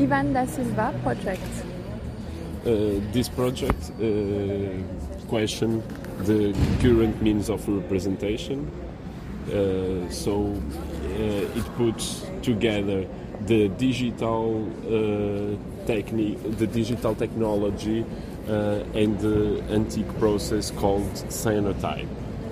Ivan da Silva project. This project question the current means of representation. It puts together the digital technology and the antique process called cyanotype.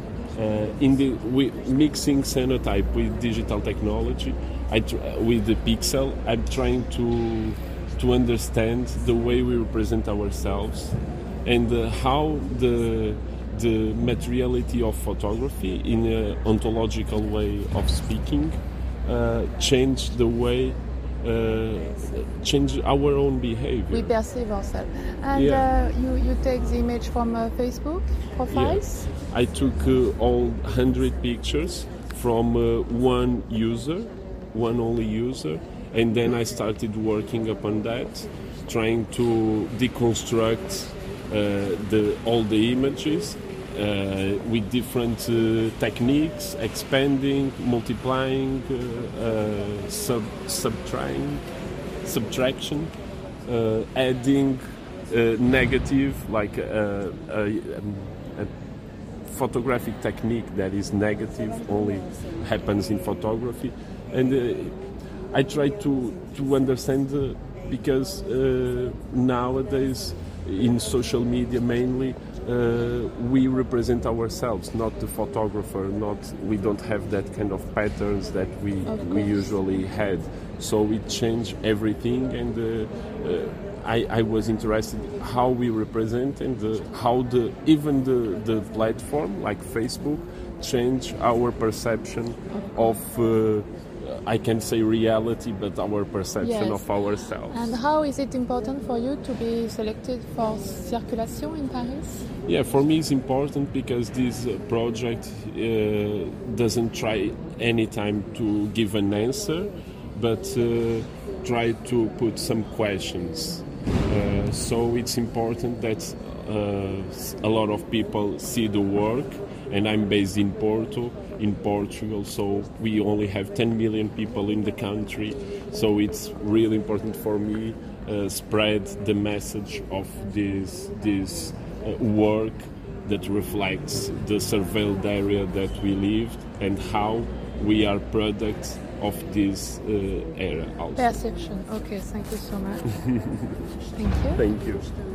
Mixing cyanotype with digital technology, with the pixel, I'm trying to understand the way we represent ourselves and how the materiality of photography in an ontological way of speaking change the way, change our own behavior. We perceive ourselves. And you take the image from Facebook profiles? Yeah. I took all 100 pictures from one only user, and then I started working upon that, trying to deconstruct all the images with different techniques, expanding, multiplying, subtraction, adding negative, like a photographic technique that is negative only happens in photography. And I try to understand because nowadays in social media mainly we represent ourselves, not the photographer. We don't have that kind of patterns that we usually had. So it changed everything, and I was interested how we represent and how even the platform like Facebook changed our perception of. I can say reality, but our perception of ourselves. And how is it important for you to be selected for Circulation in Paris? Yeah, for me it's important because this project doesn't try anytime to give an answer, but try to put some questions. So it's important that a lot of people see the work, and I'm based in Portugal, so we only have 10 million people in the country, so it's really important for me spread the message of this work that reflects the surveilled area that we lived and how we are products of this era also. Perception. Okay, thank you so much. Thank you. Thank you.